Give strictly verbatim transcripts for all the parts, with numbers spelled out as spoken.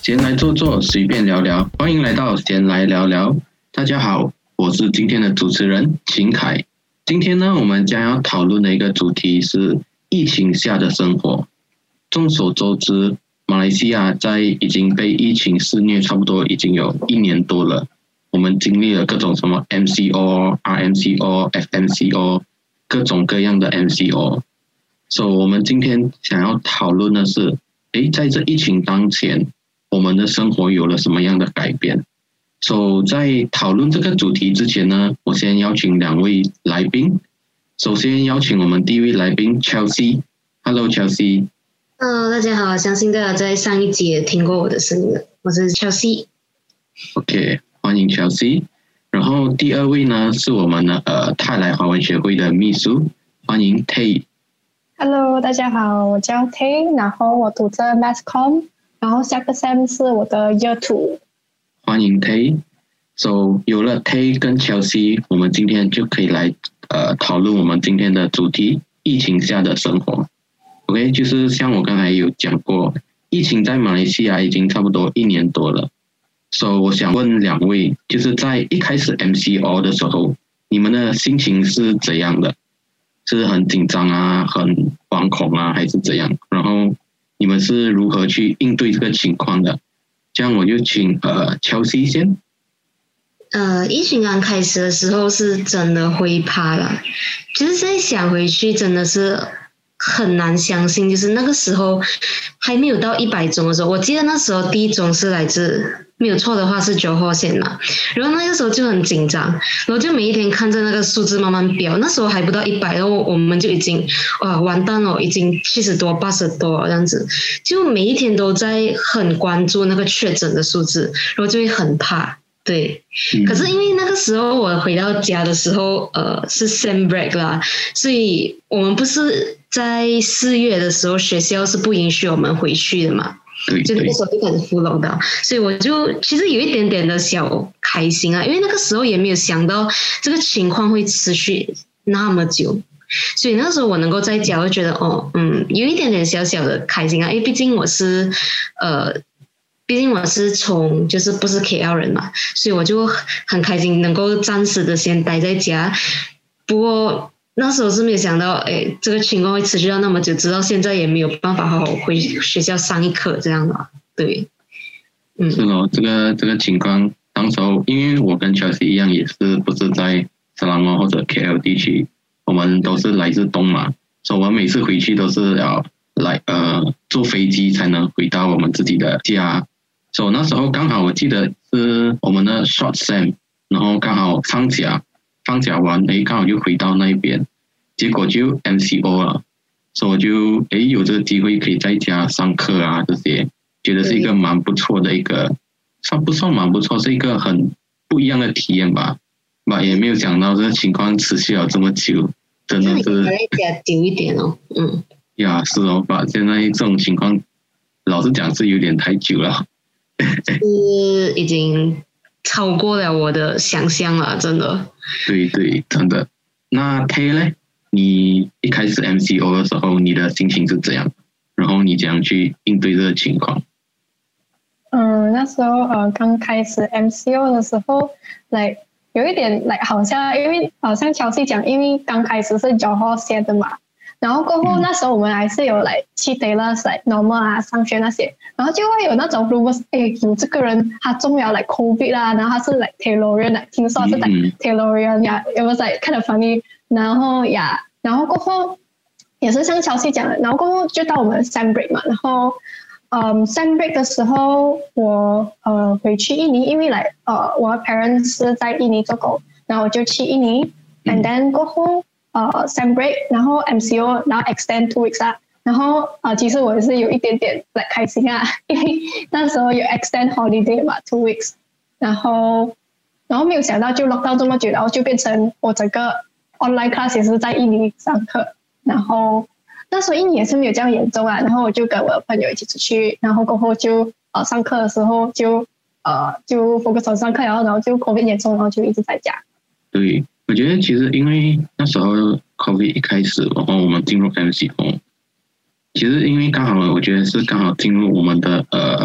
闲来坐坐，随便聊聊，欢迎来到闲来聊聊。大家好，我是今天的主持人秦凯。今天呢，我们将要讨论的一个主题是疫情下的生活。众所周知，马来西亚在已经被疫情肆虐差不多已经有一年多了。我们经历了各种什么 M C O、R M C O、F M C O， 各种各样的 M C O。所以我们今天想要讨论的是，诶，在这疫情当前，我们的生活有了什么样的改变？所以在讨论这个主题之前呢，我先邀请两位来宾。首先邀请我们第一位来宾 Chelsea。Hello Chelsea。Hello， 大家好，相信大家在上一集也听过我的声音了，我是 Chelsea。OK， 欢迎 Chelsea。然后第二位呢是我们的呃泰来华文学会的秘书，欢迎 Tay。 Hello， 大家好，我叫 Tay， 然后我读着 Masscom， 然后下个 Sem 是我的 Year Two。 欢迎 Tay。So 有了 Tay 跟 Chelsea， 我们今天就可以来呃讨论我们今天的主题：疫情下的生活。OK， 就是像我刚才有讲过，疫情在马来西亚已经差不多一年多了。So 我想问两位，就是在一开始 M C O 的时候，你们的心情是怎样的？是很紧张啊，很惶恐啊，还是怎样？然后你们是如何去应对这个情况的？这样我就请呃 Chelsea 先。 呃，疫情刚开始的时候是真的会怕啦，就是现在想回去真的是很难相信，就是那个时候还没有到一百宗的时候，我记得那时候第一宗是来自。没有错的话是九号线嘛，然后那个时候就很紧张，然后就每一天看着那个数字慢慢飙，那时候还不到一百，然后我们就已经哇完蛋了，已经七十多八十多这样子，就每一天都在很关注那个确诊的数字，然后就会很怕。对，可是因为那个时候我回到家的时候呃是 Sem break 啦，所以我们不是在四月的时候学校是不允许我们回去的嘛，就那个时候就开始full lockdown，所以我就其实有一点点的小开心啊，因为那个时候也没有想到这个情况会持续那么久，所以那个时候我能够在家，我就觉得哦，嗯，有一点点小小的开心啊，因为毕竟我是呃，毕竟我是从就是不是 K L 人嘛，所以我就很开心能够暂时的先待在家，不过。那时候是没有想到，哎，这个情况会持续到那么久，直到现在也没有办法好好回学校上一课这样的，对， 嗯，是咯，这个这个情况，当时候因为我跟 Chelsea 一样，也是不是在沙拉摩或者 K L 地区，我们都是来自东马，所以我们每次回去都是要来呃坐飞机才能回到我们自己的家，所以那时候刚好我记得是我们的 short sem， 然后刚好放假。放假完，诶，刚好就回到那边，结果就 M C O 了，所以我就诶有这个机会可以在家上课啊，这些觉得是一个蛮不错的一个，算不算蛮不错，是一个很不一样的体验吧。吧，也没有想到这个情况持续了这么久，真的是在家久一点哦，嗯， 呀，是哦，吧，现在这种情况，老实讲是有点太久了， 是已经。超过了我的想象了，真的。 对对，真的。那 Tay 呢？你一开始 M C O 的时候，你的心情是怎样？然后你怎样去应对这个情况？ 嗯，那时候呃刚开始 M C O 的时候，来有一点来好像因为好像乔西讲，因为刚开始是九号线的嘛。然后过后那时候我们还是有来去 Taylor 来 normal 啊上学那些，然后就会有那种 rumors， 诶有这个人他中了来 COVID 啦，然后他是来 Taylorian 来，听说是来 Taylorian 呀，有没有在看得 funny？ 然后呀，然后过后也是像乔西讲的，然后过后就到我们 Sem break 嘛，然后嗯 Sem break 的时候我呃回去印尼，因为来呃我的 parents 是在印尼做工，然后我就去印尼 ，and then 过后。呃 Sem break， 然后 M C O， 然后 extend two weeks 啊，然后呃其实我也是有一点点来开心啊，因为那时候有 extend holiday 嘛 two weeks， 然后然后没有想到就 lock down 这么久，然后就变成我整个 online class 也是在印尼上课，然后那时候印尼也是没有这样严重啊，然后我就跟我的朋友一起出去，然后过后就呃上课的时候就呃就 focus on 上课，然后然后就 COVID 严重，然后就一直在家。 对。我觉得其实因为那时候 COVID 一开始，然后我们进入 M C O， 其实因为刚好我觉得是刚好进入我们的呃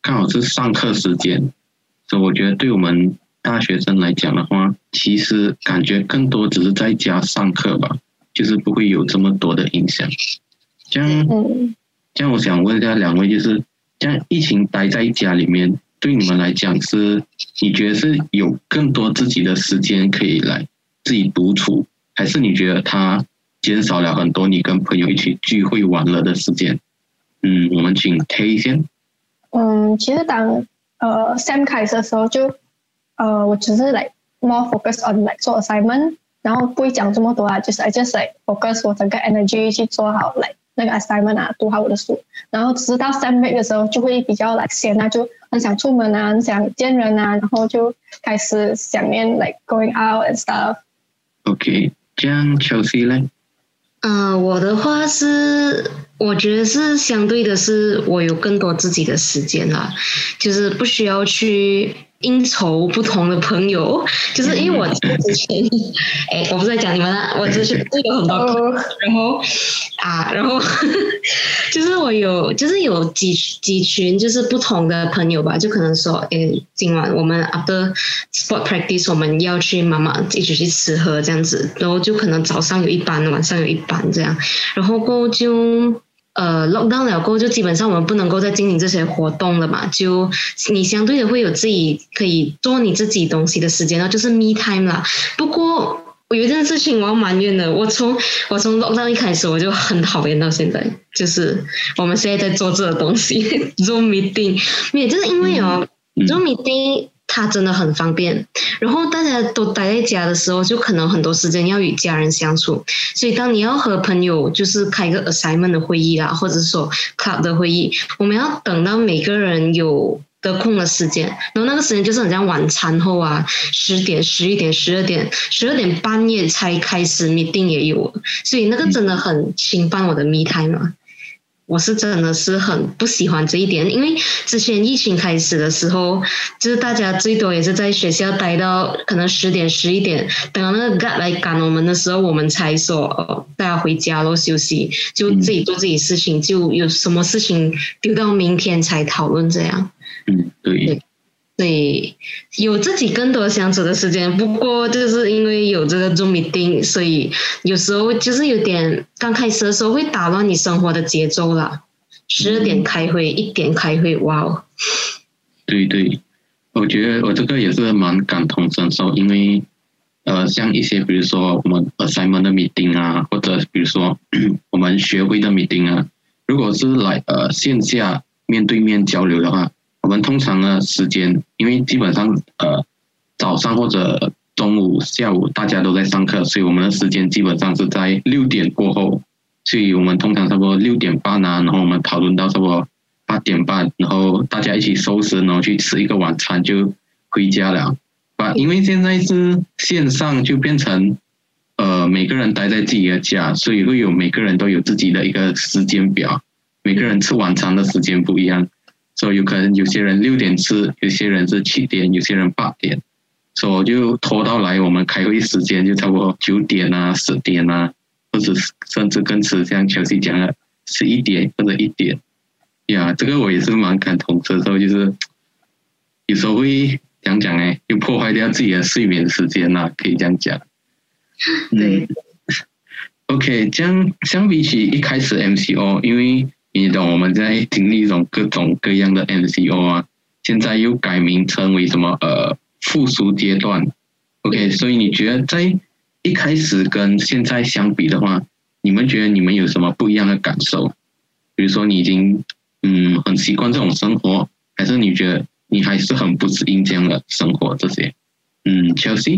刚好是上课时间，所以我觉得对我们大学生来讲的话，其实感觉更多只是在家上课吧，就是不会有这么多的影响。这样，这样我想问一下两位，就是这样疫情待在家里面，对你们来讲是，你觉得是有更多自己的时间可以来自己独处，还是你觉得它减少了很多你跟朋友一起聚会玩乐的时间？嗯，我们请 K 先。 嗯，其实当呃 Sam 开始的时候就，呃，我只是 like more focus on like 做 assignment， 然后不会讲这么多啊，就是 I just like focus 我整个 energy 去做好 like 那个 assignment 啊，读好我的书，然后直到 Sam break 的时候就会比较 like 闲啊，就很想出门啊，很想见人啊，然后就开始想念 like going out and stuff。OK， 这样 Chelsea 呢？ 嗯、呃，我的话是，我觉得是相对的是，我有更多自己的时间啦，就是不需要去应酬不同的朋友，就是因为我之前，哎，我不是在讲你们啊，我之前有很多朋友，然后啊，然后就是我有，就是有几几群就是不同的朋友吧，就可能说，哎，今晚我们 after sport practice 我们要去妈妈一起去吃喝这样子，然后就可能早上有一班，晚上有一班这样，然后过后就。呃 lockdown 了过后就基本上我们不能够再进行这些活动了嘛，就你相对的会有自己可以做你自己东西的时间，然后就是 me time 啦。不过我有一件事情我要埋怨的，我从我从 lockdown 一开始我就很讨厌到现在，就是我们现在在做这个东西Zoom meeting， 也就是因为哦、嗯、Zoom meeting它真的很方便，然后大家都待在家的时候就可能很多时间要与家人相处，所以当你要和朋友就是开个 assignment 的会议啦，或者说 club 的会议，我们要等到每个人有得空的时间，然后那个时间就是很像晚餐后啊，十点、十一点、十二点、十二点半夜才开始 meeting 也有，所以那个真的很侵犯我的 me time 嘛。我是真的是很不喜欢这一点，因为之前疫情开始的时候，就是大家最多也是在学校待到可能十点、十一点，等到那个 guard 来赶我们的时候，我们才说哦，大家回家咯，休息，就自己做自己事情，就有什么事情丢到明天才讨论这样。 嗯，对。 对，有自己更多相处的时间，不过就是因为有这个 Zoom meeting， 所以有时候就是有点刚开始的时候会打乱你生活的节奏啦。十二点开会，一点开会，哇哦！ 对对，我觉得我这个也是蛮感同身受，因为呃，像一些比如说我们 assignment 的 meeting 啊，或者比如说我们学会的 meeting 啊，如果是来呃线下面对面交流的话。我们通常的时间，因为基本上呃早上或者中午、下午大家都在上课，所以我们的时间基本上是在六点过后，所以我们通常差不多六点半啊，然后我们讨论到差不多八点半，然后大家一起收拾，然后去吃一个晚餐就回家了。啊，因为现在是线上，就变成呃每个人待在自己的家，所以会有每个人都有自己的一个时间表，每个人吃晚餐的时间不一样。所以有可能有些人六点吃，有些人是七点，有些人八点，所以就拖到来我们开会时间就差不多九点啊、十点啊，或者甚至更迟，像乔西讲的十一点或者一点。呀，这个我也是蛮感同身受，就是有时候会讲讲哎，就破坏掉自己的睡眠时间啦、啊，可以这样讲。 对。 嗯、OK， 这样相比起一开始 M C O， 因为你懂我们在经历一种各种各样的 M C O 啊，现在又改名称为什么呃复苏阶段 ，OK， 所以你觉得在一开始跟现在相比的话，你们觉得你们有什么不一样的感受？比如说你已经嗯很习惯这种生活，还是你觉得你还是很不适应这样的生活这些？嗯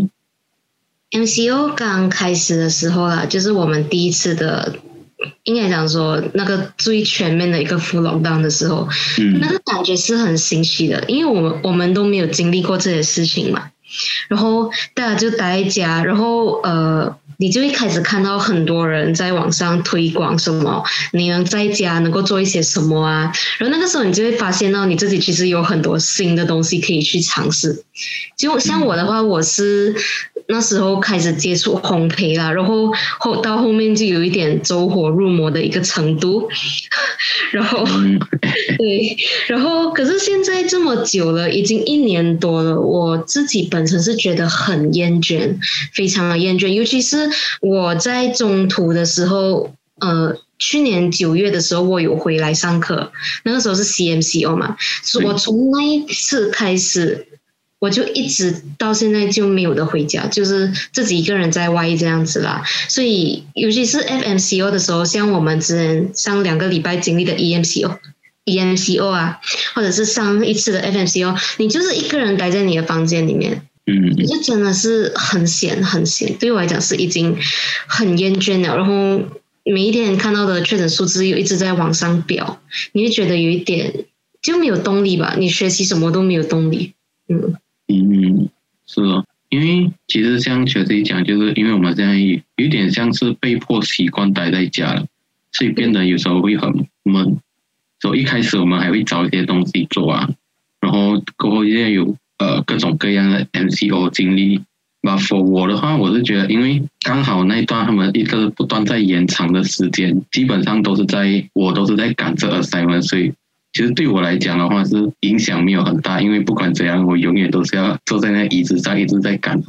，Chelsea。M C O 刚开始的时候啦，就是我们第一次的。应该讲说那个最全面的一个 full lockdown 的时候、嗯、那个感觉是很新奇的，因为我们我们都没有经历过这些事情嘛，然后大家就待在家，然后呃你就会开始看到很多人在网上推广什么你能在家能够做一些什么啊，然后那个时候你就会发现到你自己其实有很多新的东西可以去尝试。就像我的话，我是那时候开始接触烘焙啦，然后后到后面就有一点走火入魔的一个程度，然后对，然后可是现在这么久了，已经一年多了，我自己本身是觉得很厌倦，非常的厌倦，尤其是我在中途的时候，呃。去年九月的时候，我有回来上课，那个时候是 C M C O 嘛，所以我从那一次开始，我就一直到现在就没有得回家，就是自己一个人在外这样子啦。所以尤其是 F M C O 的时候，像我们之前上两个礼拜经历的 E M C O、E M C O 啊，或者是上一次的 F M C O， 你就是一个人待在你的房间里面。嗯，就真的是很闲很闲，对我来讲是已经很厌倦了，然后每一天看到的确诊数字又一直在往上飙，你会觉得有一点就没有动力吧？你学习什么都没有动力。嗯嗯，是哦，因为其实像学弟讲，就是因为我们现在有点像是被迫习惯待在家了，所以变得有时候会很闷。所以一开始我们还会找一些东西做啊，然后过后现在有呃各种各样的 M C O 经历。But for 我的话，我是觉得，因为刚好那一段他们一个不断在延长的时间，基本上都是在我都是在赶这 assignment， 所以其实对我来讲的话是影响没有很大，因为不管怎样，我永远都是要坐在那椅子上一直在赶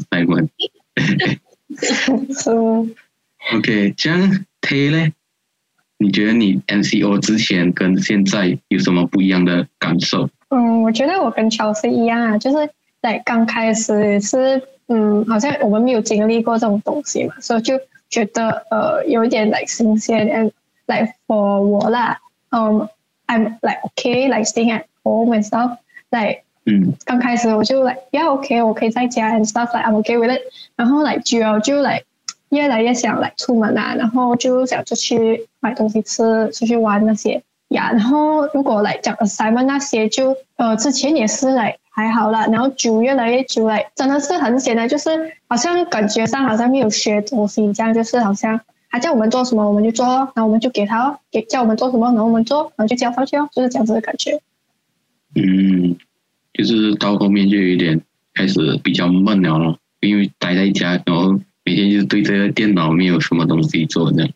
assignment。OK， 这样 Tay 呢？你觉得你 M C O 之前跟现在有什么不一样的感受？ 嗯，我觉得我跟 Chelsea 一样啊，就是在刚开始是。嗯，好像我们没有经历过这种东西嘛，所以就觉得呃有一点 like 新鲜 and like for 我啦，嗯、um, ，I'm like okay like staying at home and stuff like， 嗯，刚开始我就 like yeah okay 我可以在家 and stuff like I'm okay with it， 然后 like 久了就 like 越来越想 like 出门啊，然后就想出去买东西吃，出去玩那些呀，然后如果来讲 assignment 那些就呃之前也是来。还好啦，然后久越来越久来，真的是很闲的，就是好像感觉上好像没有学东西这样，就是好像他叫我们做什么我们就做，然后我们就给他给叫我们做什么，然后我们做，然后就交上去哦，就是这样子的感觉。 嗯，就是到后面就有点开始比较闷了咯，因为待在家，然后每天就对这个电脑没有什么东西做这样。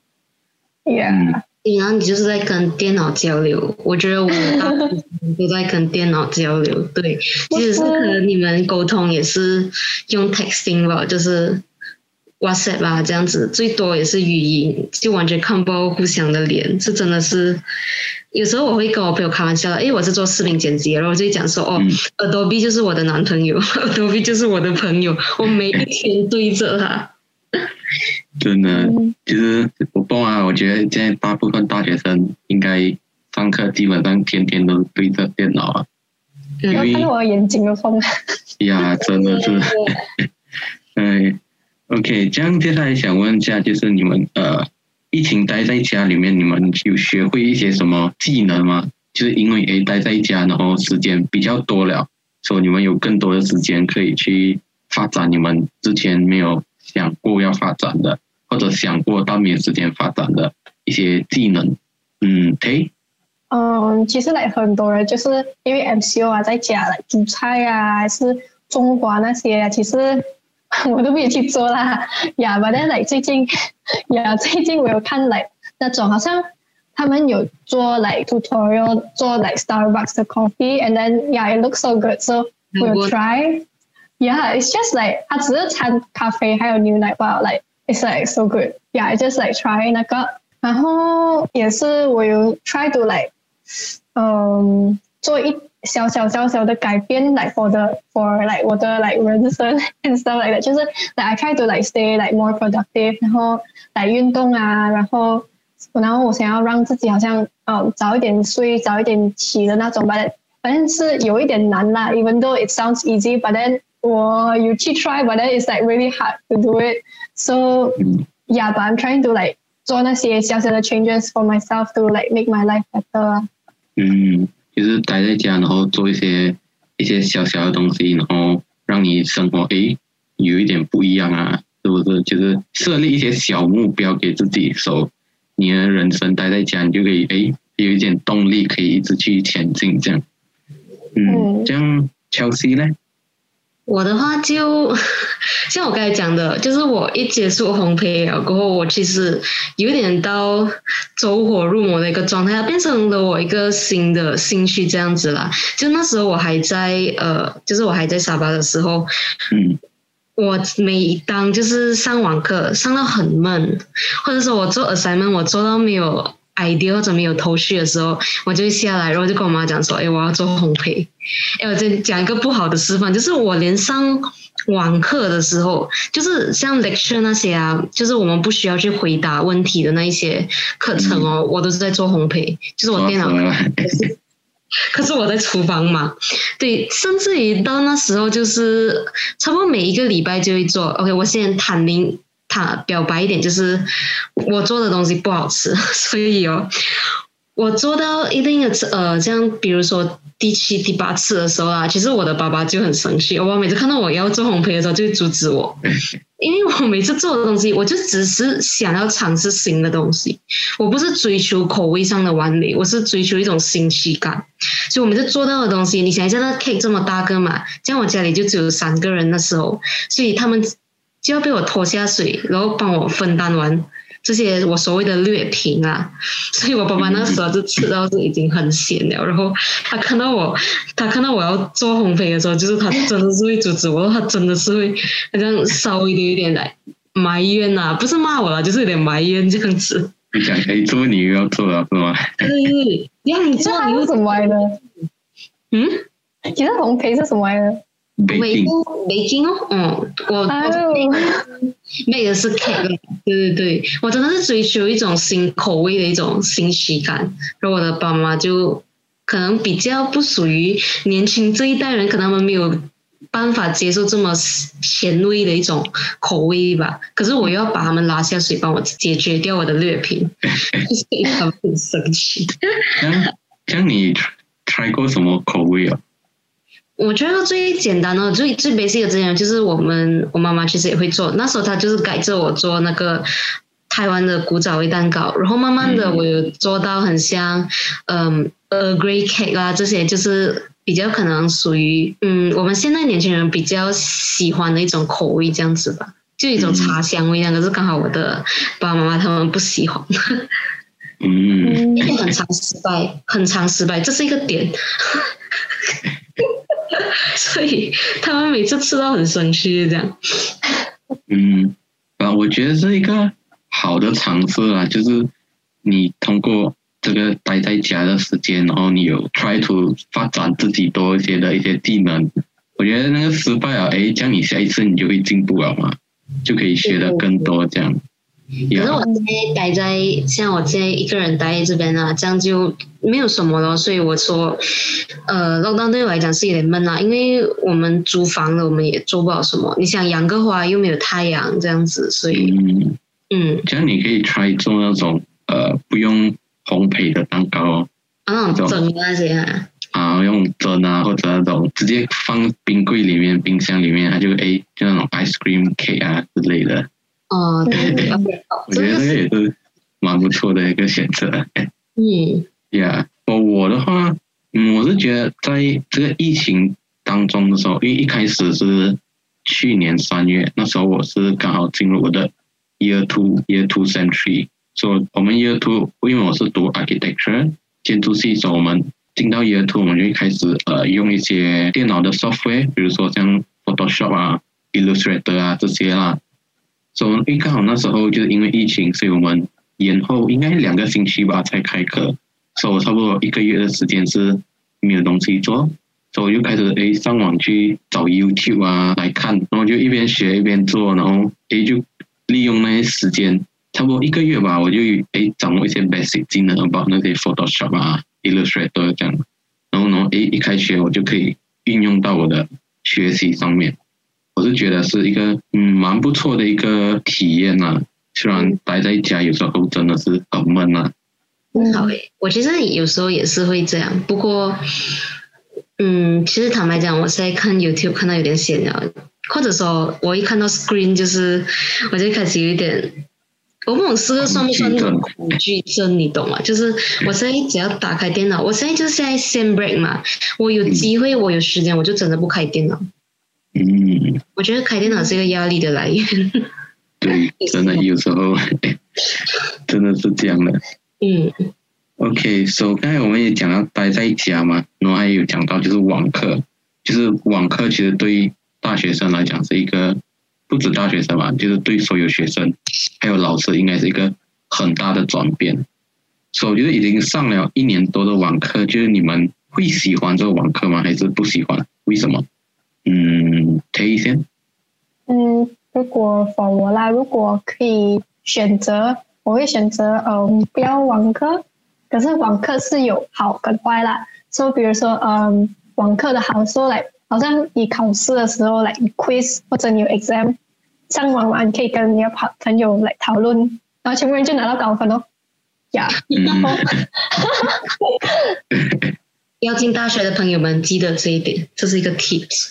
Yeah。嗯然后你就是在跟电脑交流，我觉得我大部分都在跟电脑交流。对，其实是可能你们沟通也是用 texting 吧，就是 WhatsApp 啊这样子，最多也是语音，就完全看不到互相的脸，这真的是。有时候我会跟我朋友开玩笑的，因为我是做视频剪辑，然后我就讲说哦、嗯、，Adobe 就是我的男朋友，Adobe 就是我的朋友，我每一天对着他。 真的，其实我不啊，我觉得现在大部分大学生应该上课基本上天天都对着电脑啊。 因为看到我眼睛都疯了。 呀，真的是。嗯 ，OK， 这样接下来想问一下，就是你们呃，疫情待在家里面，你们有学会一些什么技能吗？就是因为诶待在家，然后时间比较多了，所以你们有更多的时间可以去发展你们之前没有想过要发展的，或者想过但没有时间发展的一些技能。嗯 ，Tay。 嗯，其实来很多人就是因为 M C O 啊，在家来煮菜啊，还是种花那些啊，其实我都没有去做啦。呀，反正来最近呀，最近我有看来那种好像他们有做 like tutorial 做 like Starbucks 的 coffee，and then yeah it looks so good，so we'll try。Yeah, it's just like 它只是掺咖啡还有牛奶吧 ，like it's like so good. Yeah, I just like try 那个，然后也是我有 try to like 嗯做一小小小小的改变 like for the for like 我的 like 人生 and stuff like that， 就是 like I try to like stay like more productive， 然后来运动啊，然后然后我想要让自己好像嗯早一点睡早一点起的那种吧，反正是有一点难啦 ，even though it sounds easy but then 我有去 try but then it's like really hard to do it， so yeah but I'm trying to like 做那些小小的 changes for myself to like make my life better。 嗯，就是待在家，然后做一些一些小小的东西，然后让你生活诶有一点不一样啊，是不是？就是设立一些小目标给自己，所以你的人生待在家，你就可以诶有一点动力，可以一直去前进这样。嗯，这样 Chelsea 呢？ 我的话就像我刚才讲的，就是我一接触烘焙了过后，我其实有点到走火入魔的一个状态，它变成了我一个新的兴趣这样子啦。就那时候我还在呃，就是我还在沙巴的时候， 嗯， 我每当就是上网课上到很闷，或者说我做 assignment 我做到没有idea 或者没有头绪的时候，我就会下来，然后就跟我妈讲说，哎，我要做烘焙。哎，我再讲一个不好的示范，就是我连上网课的时候，就是像 lecture 那些啊，就是我们不需要去回答问题的那一些课程哦，嗯、我都是在做烘焙，就是我电脑。可是我在厨房嘛，对，甚至于到那时候就是差不多每一个礼拜就会做。OK， 我先坦明。他表白一点，就是我做的东西不好吃，所以哦，我做到一定的呃，这样比如说第七、第八次的时候啊，其实我的爸爸就很生气，我每次看到我要做烘焙的时候，就会阻止我，因为我每次做的东西，我就只是想要尝试新的东西，我不是追求口味上的完美，我是追求一种新奇感，所以我每次做到的东西，你想一下，那 cake 这么大个嘛，像我家里就只有三个人的时候，所以他们就要被我拖下水，然后帮我分担完这些我所谓的劣评啊，所以我爸爸那时候就吃到是已经很咸了，然后他看到我，他看到我要做烘焙的时候，就是他真的是会阻止我，他真的是会好像稍微的有点来埋怨啊，不是骂我啦，就是有点埋怨这样子。 你讲可以做，你又要做了是吗？ 对，让你做， 你是怎么来的？ 嗯， 其实烘焙是什么来的 ？baking baking 哦，嗯，我我 make 的是 cake， 对对对，我真的是追求一种新口味的一种新奇感，然后我的爸妈就可能比较不属于年轻这一代人，可能他们没有办法接受这么前卫的一种口味吧，可是我又要把他们拉下水，帮我解决掉我的劣评，所以他们很生气。 这样你 try 过什么口味啊？ 我觉得最简单的、最最 basic 的这样，就是我们我妈妈其实也会做。那时候她就是改着我做那个台湾的古早味蛋糕，然后慢慢的我有做到很像嗯 Earl Grey cake 啊，这些就是比较可能属于嗯我们现在年轻人比较喜欢的一种口味这样子吧，就一种茶香味，那个是刚好我的爸爸妈妈他们不喜欢。 嗯， 因为很常失败，很常失败，这是一个点。所以他们每次吃到很生气这样。 嗯，啊，我觉得是一个好的尝试啦，就是你通过这个待在家的时间，然后你有 try to 发展自己多一些的一些技能。我觉得那个失败啊，哎，这样你下一次你就会进步了嘛，就可以学得更多这样。 可是我现在待在像我现在一个人待在这边啊，这样就没有什么了，所以我说，呃 ，lockdown 对我来讲是有点闷啊，因为我们租房了，我们也做不了什么。你想养个花又没有太阳这样子，所以，嗯，嗯这样你可以 try 做那种呃不用烘焙的蛋糕哦， 啊，那种蒸那些啊， 啊，用蒸啊，或者那种直接放冰柜里面、冰箱里面，它就哎就那种 ice cream cake 啊之类的。 哦，对对对， 我觉得这个也是蛮不错的一个选择。 嗯， 呀，我我的话，嗯，我是觉得在这个疫情当中的时候，因为一开始是去年三月，那时候我是刚好进入我的 year two year two century， 所以我们 year two， 因为我是读 architecture 建筑系，所以我们进到 year two， 我们就会开始呃用一些电脑的 software， 比如说像 Photoshop 啊、Illustrator 啊这些啦。所以因为刚好那时候就是因为疫情，所以我们延后应该两个星期吧才开课，所以我差不多一个月的时间是没有东西做，所以我就开始诶上网去找 YouTube 啊来看，然后就一边学一边做，然后诶就利用那些时间，差不多一个月吧，我就诶掌握一些 basic 技能 about 那些 Photoshop 啊 Illustrator 这样，然后呢诶一开学我就可以运用到我的学习上面。我是觉得是一个嗯蛮不错的一个体验啊，虽然待在家有时候真的是很闷啊。 好诶，我其实有时候也是会这样，不过嗯，其实坦白讲，我现在看 YouTube 看到有点闲了，或者说我一看到 screen 就是我就开始有一点，我不懂这个算不算那种恐惧症，你懂吗？就是我现在只要打开电脑，我现在就是现在先 break 嘛，我有机会我有时间我就真的不开电脑。 嗯， 我觉得开电脑是一个压力的来源。 对，真的有时候真的是这样的。 嗯 OK，so 刚才我们也讲到待在家嘛，然后还有讲到就是网课，就是网课其实对大学生来讲是一个，不止大学生嘛，就是对所有学生还有老师应该是一个很大的转变。所以我觉得已经上了一年多的网课，就是你们会喜欢这个网课吗？还是不喜欢？为什么？嗯，可以先。 嗯，如果 for 我啦，如果可以选择，我会选择嗯不要网课。可是网课是有好跟坏啦。所以比如说嗯网课的好处来，好像你考试的时候来 quiz 或者你有 exam， 上网完可以跟你的朋友来讨论，然后全部人就拿到高分哦。呀、yeah. 然后要进大学的朋友们记得这一点，这是一个 tips。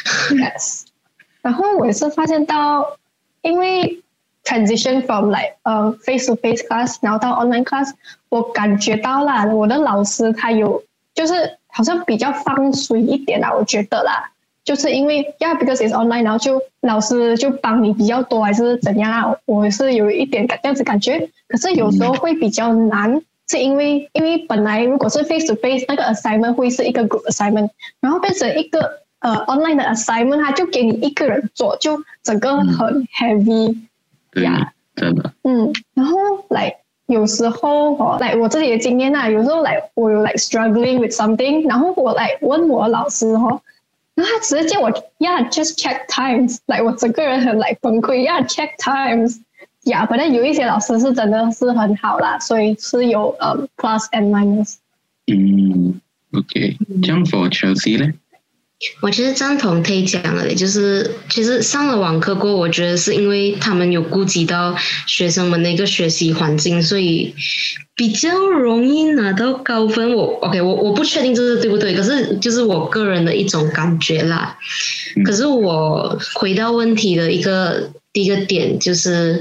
yes。 然后我也是发现到，因为 transition from like 呃 face to face class 然后到 online class， 我感觉到啦，我的老师他有就是好像比较放水一点啦，我觉得啦，就是因为 yeah because it's online， 然后就老师就帮你比较多还是怎样啊，我是有一点这样子感觉。可是有时候会比较难，是因为因为本来如果是 face to face 那个 assignment 会是一个 group assignment， 然后变成一个呃 online 的 assignment， 他就给你一个人做，就整个很 heavy。 对呀，真的。 嗯，然后来有时候哦，来我自己的经验啊，有时候来我有 like struggling with something， 然后我来问我老师哦，然后他直接叫我 yeah just check times， 来我整个人很来崩溃 yeah check times。呀，反正有一些老师是真的是很好啦，所以是有呃 plus and minus。 嗯 ，OK， 这样 for Chelsea 呢？ 我其实赞同 Tay 讲的，就是其实上了网课过后，我觉得是因为他们有顾及到学生们的一个学习环境，所以比较容易拿到高分。我 OK， 我我不确定这是对不对，可是就是我个人的一种感觉啦。嗯、可是我回到问题的一个第一个点就是。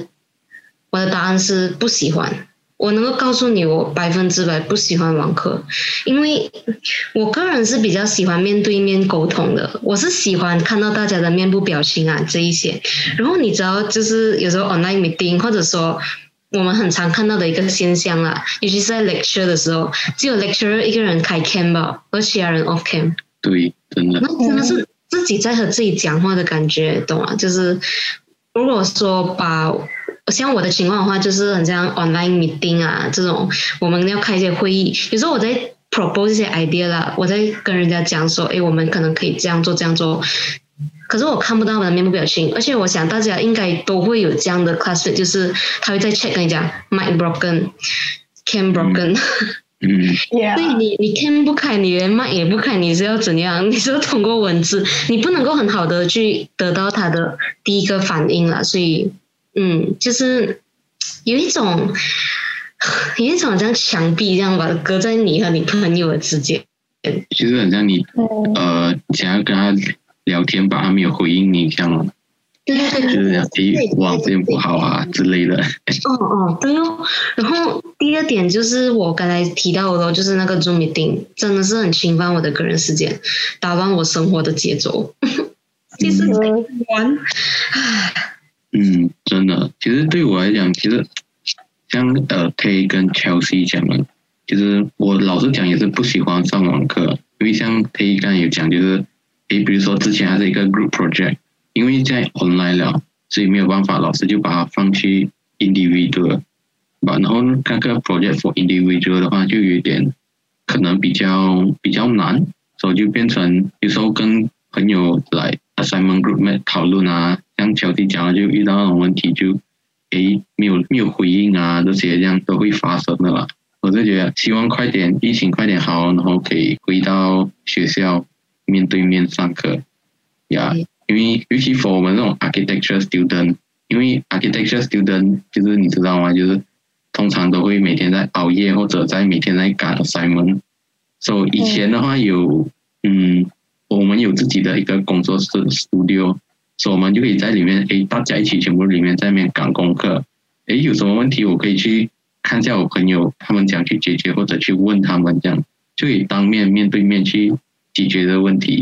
我的答案是不喜欢，我能够告诉你我百分之百不喜欢网课，因为我个人是比较喜欢面对面沟通的，我是喜欢看到大家的面部表情啊这一些。然后你知道就是有时候 online meeting 或者说我们很常看到的一个现象啦，尤其是在 lecture 的时候，只有 lecturer 一个人开 cam 吧，而其他人 off cam。 对，真的。 那真的是自己在和自己讲话的感觉，懂吗？就是如果说把像我的情况的话，就是很像 online meeting 啊这种，我们要开一些会议，有时候我在 propose 一些 idea 啦，我在跟人家讲说，诶，我们可能可以这样做这样做，可是我看不到我的面部表情，而且我想大家应该都会有这样的 classmate， 就是他会在 check 跟你讲 mic broken cam broken。 嗯， 所以你你 cam 不开，你连 mic 也不开，你是要怎样？你是要通过文字，你不能够很好的去得到他的第一个反应啦，所以。嗯，就是有一种有一种像墙壁这样吧，隔在你和你朋友的之间。 其实很像你呃想要跟他聊天吧，他没有回应你这样。 对对对， 就是诶网线不好啊之类的。 哦哦，对哦。然后第二点就是我刚才提到的，就是那个 Zoom meeting 真的是很侵犯我的个人时间，打乱我生活的节奏。其实在玩，唉。 嗯，真的，其实对我来讲，其实像呃 Tay 跟 Chelsea 讲的，其实我老实讲也是不喜欢上网课，因为像 Tay 刚才有讲，就是诶，比如说之前还是一个 group project， 因为在 online 了，所以没有办法，老师就把它放去 individual， 然后那个 project for individual 的话，就有点可能比较比较难，所以就变成有时候跟朋友来 assignment group mate 讨论啊。像小弟讲的，就遇到那种问题就，就诶没有没有回应啊，这些这样都会发生的啦。我就觉得希望快点疫情快点好，然后可以回到学校面对面上课呀。Yeah, 因为尤其 for 我们这种 architecture student， 因为 architecture student 就是你知道吗？就是通常都会每天在熬夜或者在每天在赶 assignment。所以以前的话有嗯，我们有自己的一个工作室 studio。所以我们就可以在里面，诶，大家一起全部里面在那边赶功课，诶，有什么问题我可以去看一下我朋友他们讲去解决，或者去问他们，这样就可以当面面对面去解决的问题。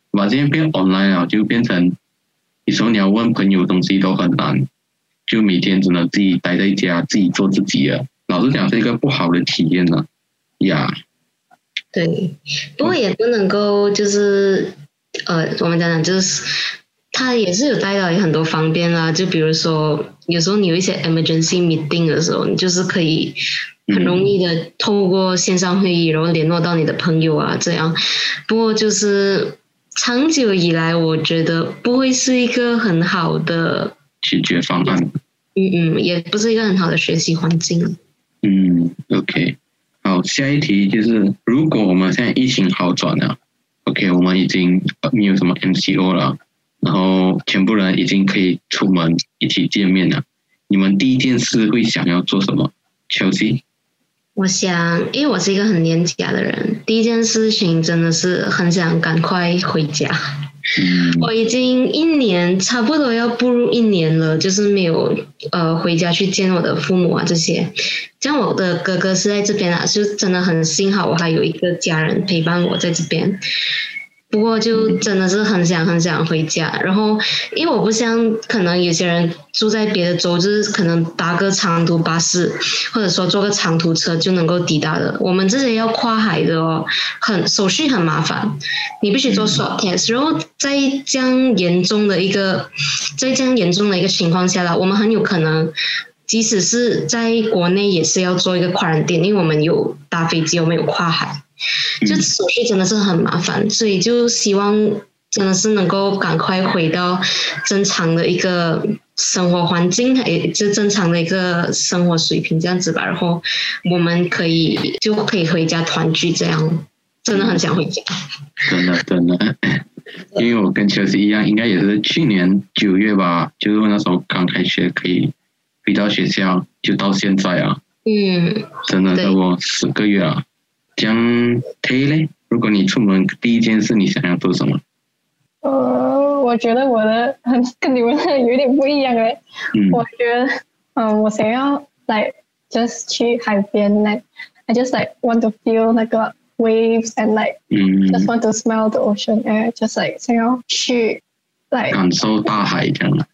把现在变 online 了，就变成有时候你要问朋友东西都很难，就每天只能自己待在家，自己做自己了。老实讲，是一个不好的体验呢。呀， 对，不过也不能够就是呃，我们讲讲就是。它也是有带来很多方便啦，就比如说有时候你有一些 emergency meeting 的时候，你就是可以很容易的透过线上会议，然后联络到你的朋友啊，这样。不过就是长久以来，我觉得不会是一个很好的解决方案。 嗯嗯，也不是一个很好的学习环境。 嗯 ，OK， 好，下一题就是，如果我们现在疫情好转了 ，OK， 我们已经没有什么 M C O 了。然后全部人已经可以出门一起见面了，你们第一件事会想要做什么 ？Chelsea？ 我想，因为我是一个很恋家的人，第一件事情真的是很想赶快回家。嗯、我已经一年，差不多要步入一年了，就是没有呃回家去见我的父母啊这些。像我的哥哥是在这边啊，就真的很幸好我还有一个家人陪伴我在这边。不过就真的是很想很想回家，然后因为我不像可能有些人住在别的州，就是可能搭个长途巴士或者说坐个长途车就能够抵达的。我们这些要跨海的哦，很手续很麻烦，你必须做 swab test， 然后在这样严重的一个在这样严重的一个情况下啦，我们很有可能。即使是在国内也是要做一个quarantine，因为我们有搭飞机，我们有跨海，就手续真的是很麻烦，所以就希望真的是能够赶快回到正常的一个生活环境，也就正常的一个生活水平这样子吧，然后我们可以就可以回家团聚，这样真的很想回家。 真的真的，因为我跟秋实一样，应该也是去年九月吧，就是那时候刚开学可以。回到学校就到现在啊，嗯，真的差不多十个月啊。这样 Tay 嘞，如果你出门第一件事你想要做什么？ 呃，我觉得我的很跟你们的有点不一样诶。嗯，我觉得，嗯、呃，我想要 like just 去海边 like I just like want to feel 那个 waves and like、嗯、just want to smell the ocean air， just like 想要去 like 感受大海这样。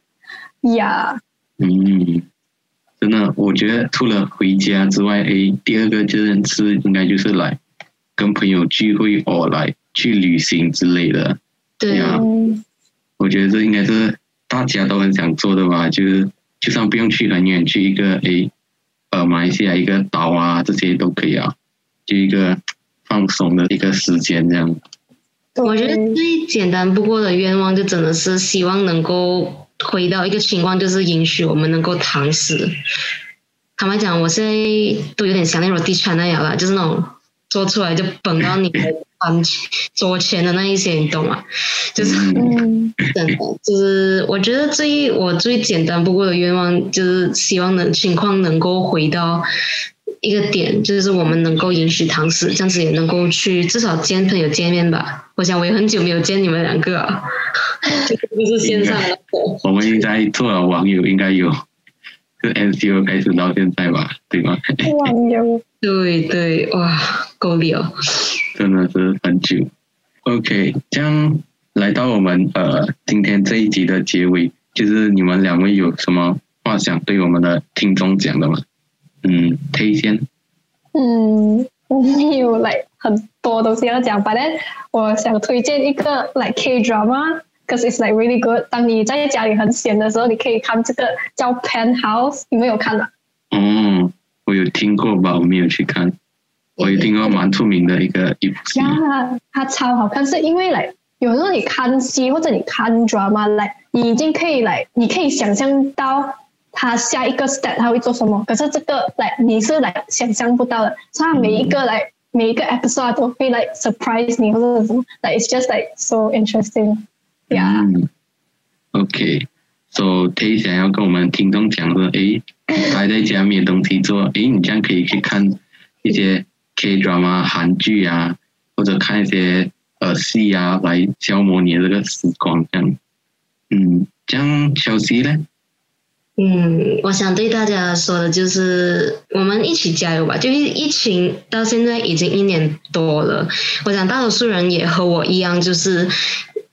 Yeah。 嗯。真的，我觉得除了回家之外，诶，第二个就是是应该就是来跟朋友聚会，或来去旅行之类的。 对啊， 我觉得这应该是大家都很想做的吧。就是就算不用去很远，去一个诶呃马来西亚一个岛啊，这些都可以啊，就一个放松的一个时间这样。 我觉得最简单不过的愿望，就真的是希望能够。回到一个情况，就是允许我们能够堂食。坦白讲，我现在都有点想念我地产那样啦，就是那种做出来就蹦到你的餐桌前的那一些，你懂吗？就是真的，就是我觉得最我最简单不过的愿望，就是希望能情况能够回到一个点，就是我们能够允许堂食，这样子也能够去至少见朋友见面吧。我想我也很久没有见你们两个啊，不是线上的。 我们应该做了网友，应该有，就 M C O 开始到现在吧，对吗？ 网友， 对对，哇，够力哦！ 真的是很久。OK， 这样来到我们呃今天这一集的结尾，就是你们两位有什么话想对我们的听众讲的吗？嗯，推先。 嗯，我没有 like 很多东西要讲，反正我想推荐一个 like K drama。Because it's like really good。当你在家里很闲的时候，你可以看这个叫《Penthouse》，你们有看吗？ 哦，我有听过吧，我没有去看。我有听过蛮出名的一个一部戏。 呀，它超好看，是因为来有时候你看戏或者你看 drama， 来你已经可以来，你可以想象到他下一个 step 他会做什么。可是这个来你是来想象不到的，所以他每一个来、嗯、每一个 episode 都会来 surprise 你或者什么。Like it's just like so interesting。Yeah. 嗯 OK，so Tay 想要跟我们听众讲说，诶，待在家没有东西做，诶，你这样可以去看一些 K drama 韩剧啊，或者看一些呃戏啊，来消磨你的这个时光，这样。嗯，这样Chelsea呢？ 嗯，我想对大家说的就是，我们一起加油吧！就是疫情到现在已经一年多了，我想大多数人也和我一样，就是。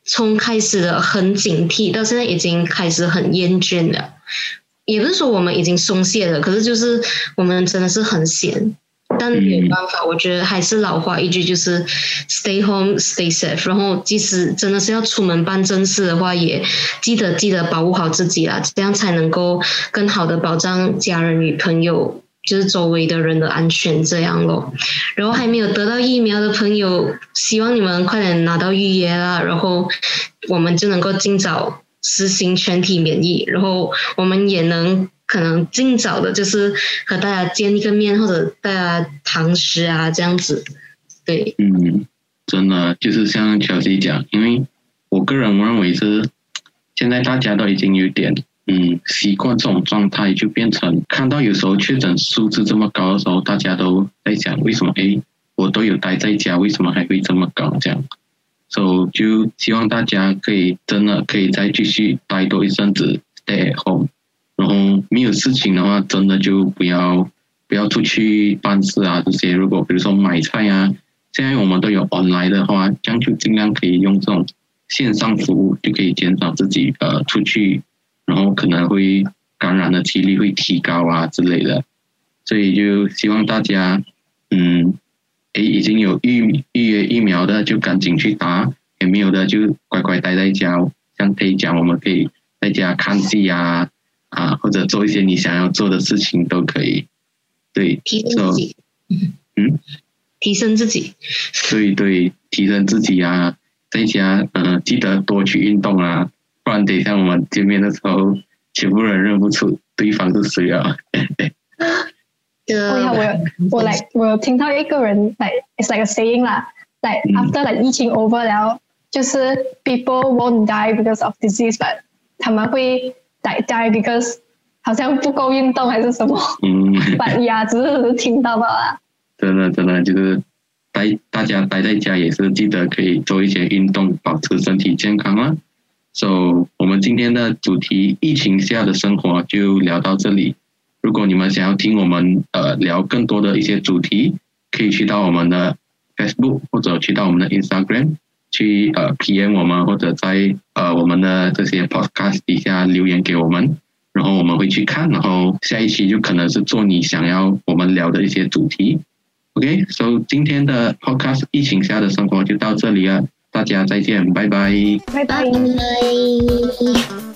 从开始的很警惕到现在已经开始很厌倦了，也不是说我们已经松懈了，可是就是我们真的是很闲，但没有办法，我觉得还是老话一句，就是 stay home stay safe， 然后即使真的是要出门办正事的话，也记得记得保护好自己啦，这样才能够更好的保障家人与朋友，就是周围的人的安全这样咯。然后还没有得到疫苗的朋友，希望你们快点拿到预约啦，然后我们就能够尽早实行全体免疫，然后我们也能可能尽早的就是和大家见一个面，或者大家堂食啊这样子。对， 嗯，真的就是像乔西讲，因为我个人认为是现在大家都已经有点嗯习惯这种状态，就变成看到有时候确诊数字这么高的时候，大家都在想为什么诶我都有待在家，为什么还会这么高这样。所以就希望大家可以真的可以再继续待多一阵子 stay at home， 然后没有事情的话真的就不要不要出去办事啊这些，如果比如说买菜啊，现在我们都有 online 的话，这样就尽量可以用这种线上服务，就可以减少自己呃出去，然后可能会感染的几率会提高啊之类的。所以就希望大家嗯诶已经有预预约疫苗的就赶紧去打，也没有的就乖乖待在家，像可以讲我们可以在家看戏啊啊或者做一些你想要做的事情都可以。对， 提升自己。 嗯， 提升自己。 对对，提升自己啊，在家呃记得多去运动啊，不然等一下我们见面的时候，全部人认不出对方是谁啊。 哦呀，我有我 like 我有听到一个人 like it's like a saying 啦 ，like after like 疫情 over 了，就是 people won't die because of disease， but 他们会 like die because 好像不够运动还是什么。嗯。but 呀，只是听到吧啦。 真的真的就是待大家待在家也是记得可以做一些运动，保持身体健康啦。So 我们今天的主题疫情下的生活就聊到这里。如果你们想要听我们呃聊更多的一些主题，可以去到我们的 Facebook 或者去到我们的 Instagram 去呃 P M 我们，或者在呃我们的这些 Podcast 底下留言给我们，然后我们会去看，然后下一期就可能是做你想要我们聊的一些主题。OK， so 今天的 Podcast 疫情下的生活就到这里了，大家再见，拜拜， 拜拜。 拜拜。